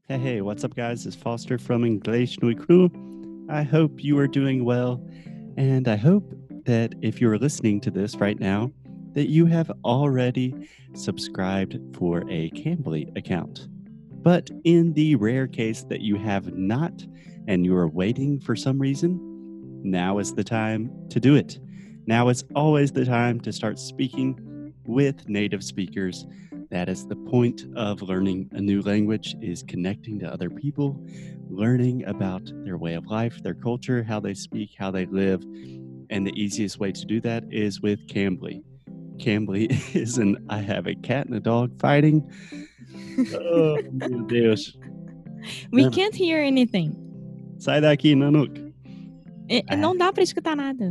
Hey, what's up, guys? It's Foster from Inglês no Cru. I hope you are doing well, and I hope that if you're listening to this right now, that you have already subscribed for a Cambly account. But in the rare case that you have not and you are waiting for some reason, now is the time to do it. Now is always the time to start speaking with native speakers. That is the point of learning a new language, is connecting to other people, learning about their way of life, their culture, how they speak, how they live. And the easiest way to do that is with Cambly. Cambly is an I have a cat and a dog fighting. Oh, meu Deus. We can't hear anything. Sai daqui, Nanook. Não dá para escutar nada.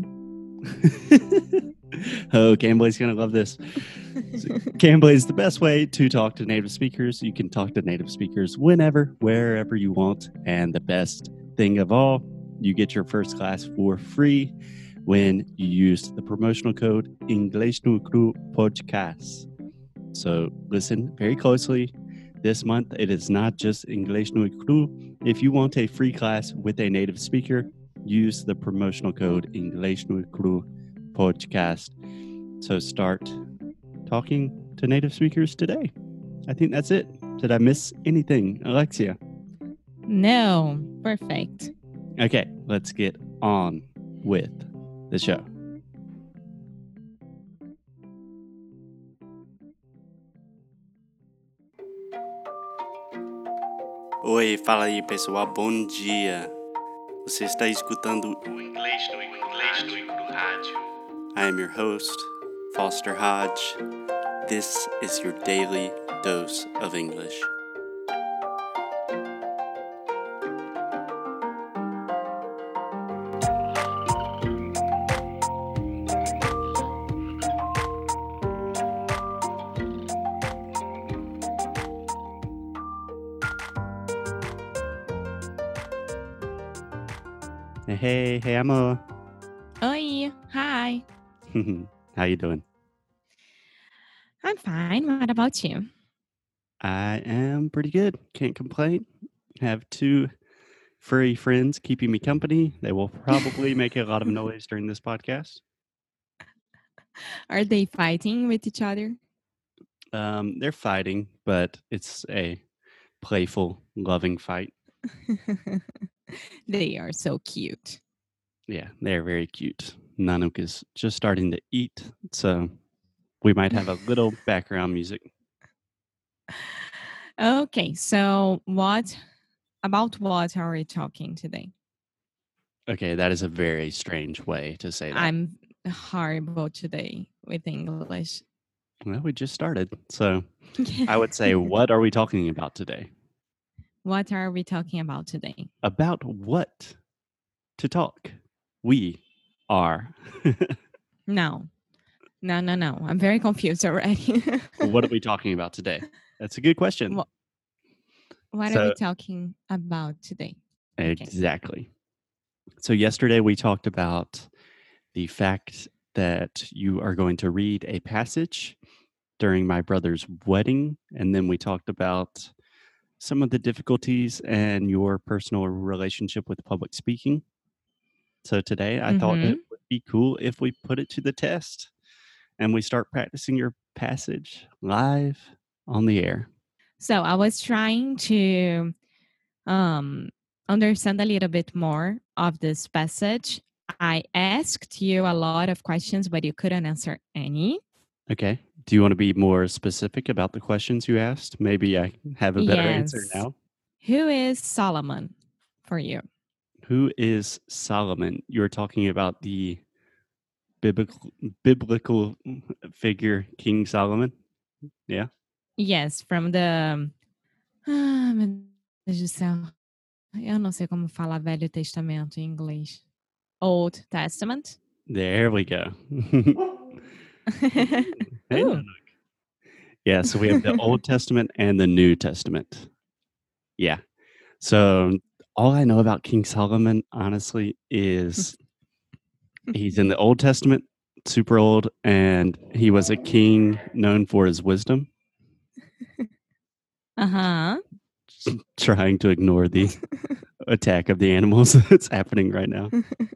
Oh, Cambly's going to love this. Cambly is the best way to talk to native speakers. You can talk to native speakers whenever, wherever you want. And the best thing of all, you get your first class for free when you use the promotional code Inglês no Cru Podcast. So listen very closely. This month, it is not just Inglês no Cru. If you want a free class with a native speaker, use the promotional code Inglês no Cru Podcast. So start talking to native speakers today. I think that's it. Did I miss anything, Alexia? No, perfect. Okay, let's get on with the show. Oi, fala aí pessoal, bom dia. Você está escutando o Inglês no Rádio. I am your host, Foster Hodge. This is your daily dose of English. Hey, Emma. Oi, hi. How you doing? I'm fine. What about you? I am pretty good. Can't complain. Have two furry friends keeping me company. They will probably make a lot of noise during this podcast. Are they fighting with each other? They're fighting, but it's a playful, loving fight. They are so cute. Yeah, they're very cute. Nanook is just starting to eat, so we might have a little background music. Okay, so about what are we talking today? Okay, that is a very strange way to say that. I'm horrible today with English. Well, we just started, so I would say, what are we talking about today? What are we talking about today? About what to talk? We are. No. I'm very confused already. What are we talking about today? That's a good question. What are we talking about today? Exactly. So yesterday we talked about the fact that you are going to read a passage during my brother's wedding. And then we talked about some of the difficulties and your personal relationship with public speaking. So today I thought it would be cool if we put it to the test and we start practicing your passage live on the air. So I was trying to understand a little bit more of this passage. I asked you a lot of questions, but you couldn't answer any. Okay. Do you want to be more specific about the questions you asked? Maybe I have a better answer now. Who is Solomon for you? Who is Solomon? You're talking about the biblical figure, King Solomon? Yeah. Yes, from the... meu Deus do céu. Eu não sei como falar Velho Testamento em inglês. Old Testament? There we go. Hey, yeah, so we have the Old Testament and the New Testament. Yeah. So all I know about King Solomon, honestly, is he's in the Old Testament, super old, and he was a king known for his wisdom. trying to ignore the attack of the animals that's happening right now.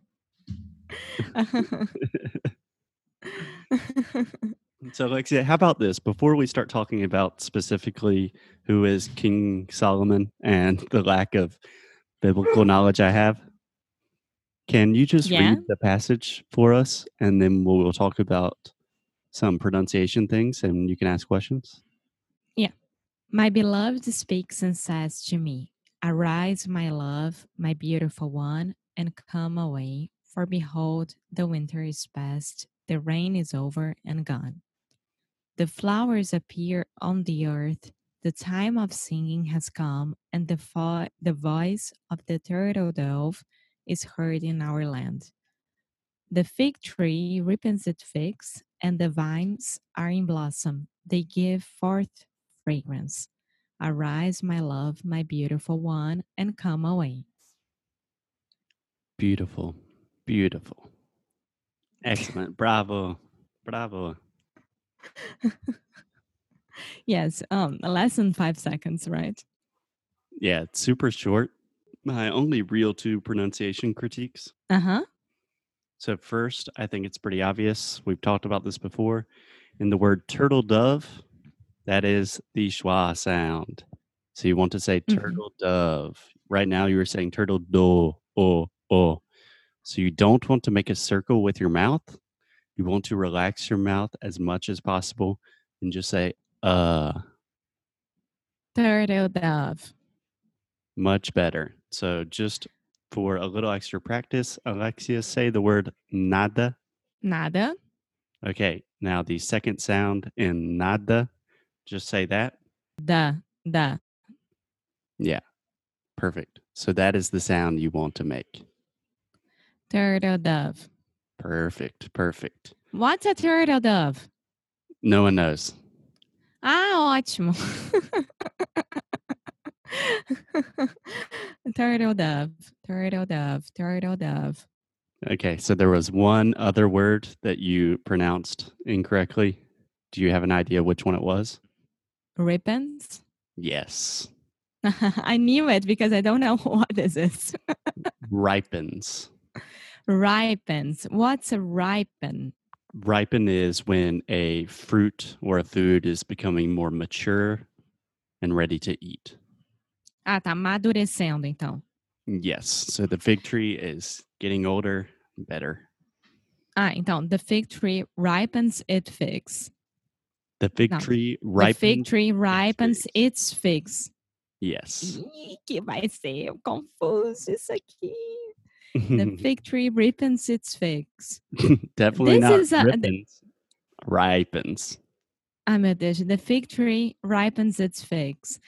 So, Alexia, how about this? Before we start talking about specifically who is King Solomon and the lack of biblical knowledge I have, can you just Yeah. read the passage for us and then we'll talk about some pronunciation things and you can ask questions? My beloved speaks and says to me, Arise, my love, my beautiful one, and come away, for behold, the winter is past, the rain is over and gone. The flowers appear on the earth, the time of singing has come, and the voice of the turtle dove is heard in our land. The fig tree ripens its figs, and the vines are in blossom. They give forth fragrance. Arise, my love, my beautiful one, and come away. Beautiful. Beautiful. Excellent. Bravo. Bravo. Yes, less than 5 seconds, right? Yeah, it's super short. My only real two pronunciation critiques. Uh-huh. So, first, I think it's pretty obvious. We've talked about this before. In the word turtle dove, that is the schwa sound. So, you want to say turtle dove. Right now, you were saying turtle do, oh. So, you don't want to make a circle with your mouth. You want to relax your mouth as much as possible and just say, Turtle dove. much better. So, just for a little extra practice, Alexia, say the word nada. Nada. Okay, now the second sound in nada, just say that. Da. Yeah, perfect. So that is the sound you want to make. Turtle dove. Perfect. What's a turtle dove? No one knows. Ah, ótimo. Turtle dove. Okay, so there was one other word that you pronounced incorrectly. Do you have an idea which one it was? Ribbons. Yes. I knew it because I don't know what is this. Ripens. Ripens. What's a ripen? Ripen is when a fruit or a food is becoming more mature and ready to eat. Ah, tá amadurecendo, então. Yes. So the fig tree is getting older, better. Ah, então, the fig tree ripens its figs. The fig Não, tree the fig ripens. tree ripens its figs. Yes. Ih, que vai ser confuso isso aqui. The fig tree ripens its figs. Definitely This not is a... ripens. Ripens. Ah, meu Deus. The fig tree ripens its figs.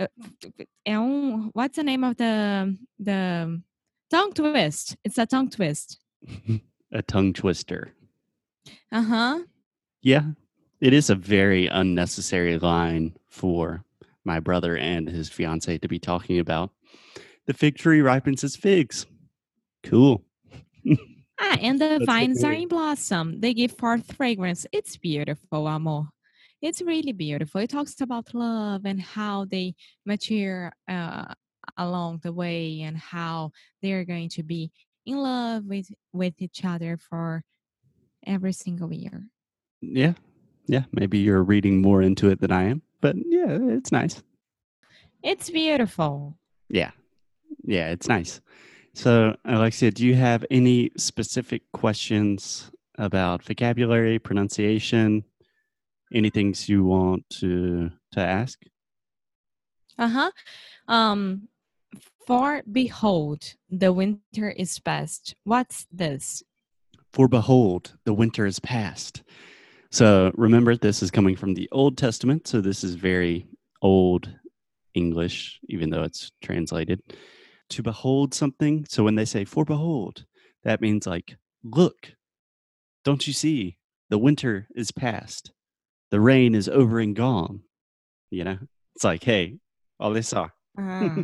What's the name of the tongue twist? It's a tongue twist. A tongue twister. Uh-huh. Yeah. It is a very unnecessary line for my brother and his fiance to be talking about. The fig tree ripens its figs. Cool. And the That's vines are okay. in blossom. They give forth fragrance. It's beautiful, amor. It's really beautiful. It talks about love and how they mature along the way and how they're going to be in love with each other for every single year. Yeah. Yeah. Maybe you're reading more into it than I am, but yeah, it's nice. It's beautiful. Yeah. Yeah, it's nice. So, Alexia, do you have any specific questions about vocabulary, pronunciation, any things you want to ask? Uh-huh. Um, for behold, the winter is past. What's this? For behold, the winter is past. So, remember, this is coming from the Old Testament. So, this is very old English, even though it's translated. To behold something. So, when they say for behold, that means like, look, don't you see? The winter is past. The rain is over and gone. You know, it's like, hey, all they saw. Ah,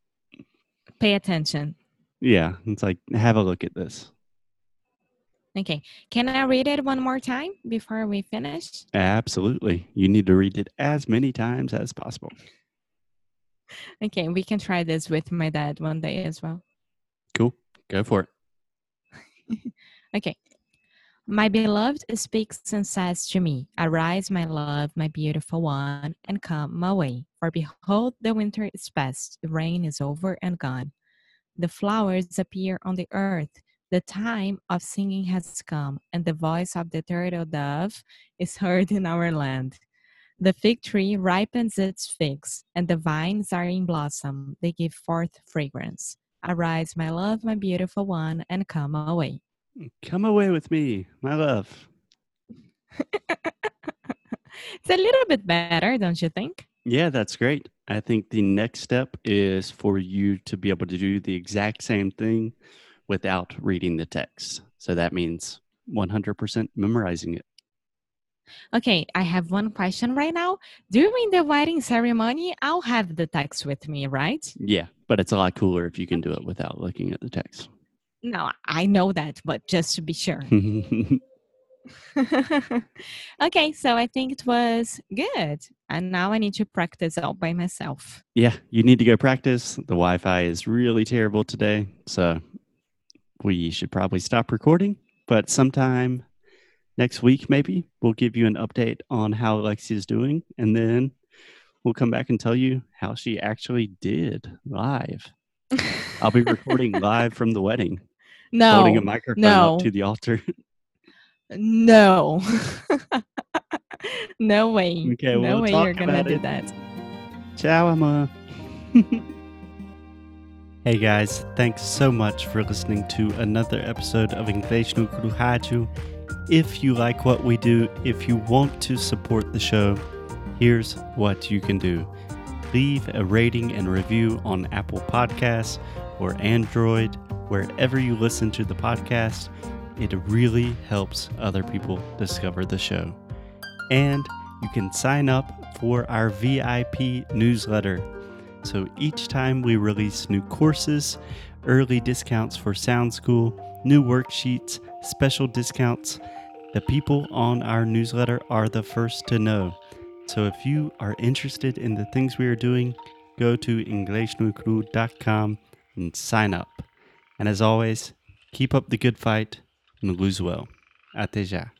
pay attention. Yeah, it's like, have a look at this. Okay. Can I read it one more time before we finish? Absolutely. You need to read it as many times as possible. Okay, we can try this with my dad one day as well. Cool. Go for it. Okay. My beloved speaks and says to me, Arise, my love, my beautiful one, and come my way. For behold, the winter is past, the rain is over and gone. The flowers appear on the earth. The time of singing has come, and the voice of the turtle dove is heard in our land. The fig tree ripens its figs, and the vines are in blossom. They give forth fragrance. Arise, my love, my beautiful one, and come away. Come away with me, my love. It's a little bit better, don't you think? Yeah, that's great. I think the next step is for you to be able to do the exact same thing without reading the text. So that means 100% memorizing it. Okay, I have one question right now. During the wedding ceremony, I'll have the text with me, right? Yeah, but it's a lot cooler if you can do it without looking at the text. No, I know that, but just to be sure. Okay, so I think it was good. And now I need to practice all by myself. Yeah, you need to go practice. The Wi-Fi is really terrible today, so we should probably stop recording. But sometime next week, maybe we'll give you an update on how Alexia's doing, and then we'll come back and tell you how she actually did live. I'll be recording live from the wedding, holding a microphone up to the altar. No. No way. Okay, No we'll way talk you're gonna about do it. that. Ciao, Emma. Hey guys, thanks so much for listening to another episode of Inglês no Rádio. If you like what we do, if you want to support the show, here's what you can do. Leave a rating and review on Apple Podcasts or Android, wherever you listen to the podcast. It really helps other people discover the show. And you can sign up for our VIP newsletter. So each time we release new courses, early discounts for Sound School, new worksheets, special discounts, the people on our newsletter are the first to know. So if you are interested in the things we are doing, go to inglesnuecru.com and sign up. And as always, keep up the good fight and lose well. Até já.